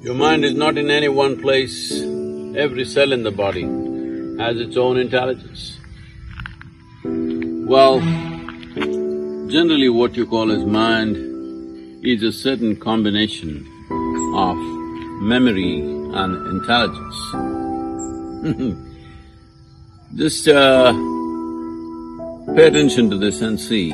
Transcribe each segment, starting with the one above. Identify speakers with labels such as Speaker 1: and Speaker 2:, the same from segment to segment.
Speaker 1: Your mind is not in any one place. Every cell in the body has its own intelligence. Well, generally what you call as mind is a certain combination of memory and intelligence. Just pay attention to this and see.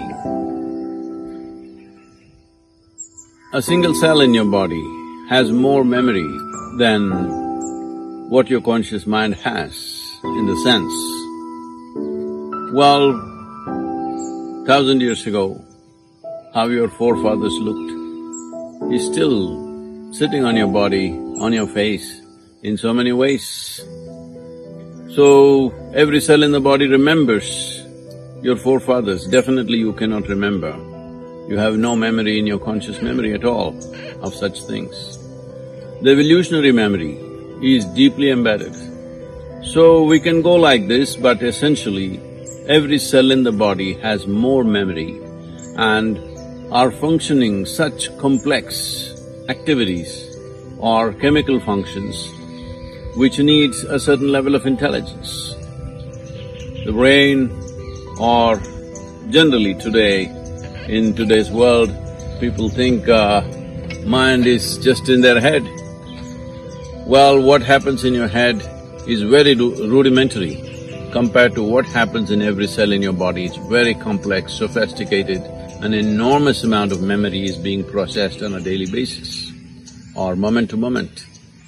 Speaker 1: A single cell in your body has more memory than what your conscious mind has, in the sense. Well, 1,000 years ago, how your forefathers looked is still sitting on your body, on your face, in so many ways. So, every cell in the body remembers your forefathers. Definitely you cannot remember. You have no memory in your conscious memory at all of such things. The evolutionary memory is deeply embedded. So we can go like this, but essentially every cell in the body has more memory and are functioning such complex activities or chemical functions which needs a certain level of intelligence. The brain, or generally today, in today's world, people think mind is just in their head. Well, what happens in your head is very rudimentary compared to what happens in every cell in your body. It's very complex, sophisticated, an enormous amount of memory is being processed on a daily basis or moment to moment.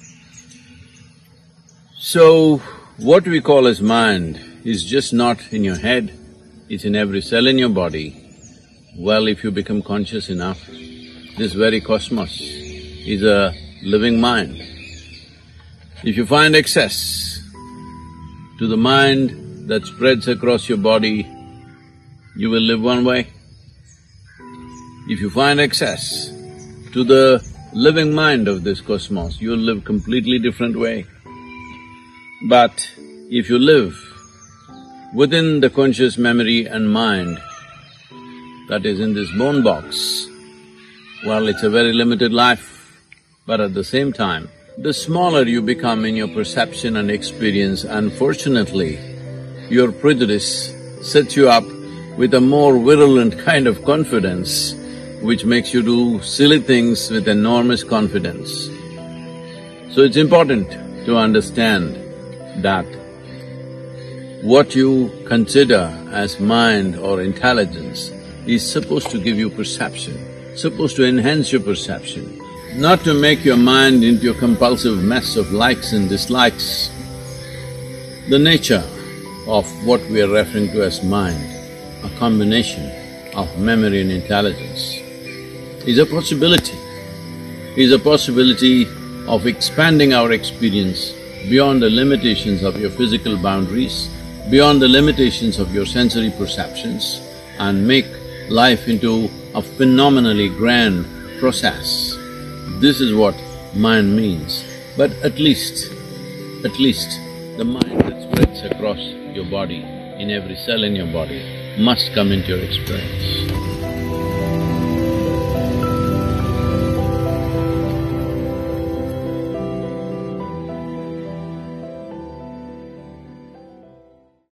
Speaker 1: So, what we call as mind is just not in your head, it's in every cell in your body. Well, if you become conscious enough, this very cosmos is a living mind. If you find access to the mind that spreads across your body, you will live one way. If you find access to the living mind of this cosmos, you'll live completely different way. But if you live within the conscious memory and mind that is in this bone box, well, it's a very limited life. But at the same time, the smaller you become in your perception and experience, unfortunately, your prejudice sets you up with a more virulent kind of confidence which makes you do silly things with enormous confidence. So it's important to understand that what you consider as mind or intelligence is supposed to give you perception, supposed to enhance your perception, not to make your mind into a compulsive mess of likes and dislikes. The nature of what we are referring to as mind, a combination of memory and intelligence, is a possibility of expanding our experience beyond the limitations of your physical boundaries, beyond the limitations of your sensory perceptions, and make life into a phenomenally grand process. This is what mind means. But at least the mind that spreads across your body, in every cell in your body, must come into your experience.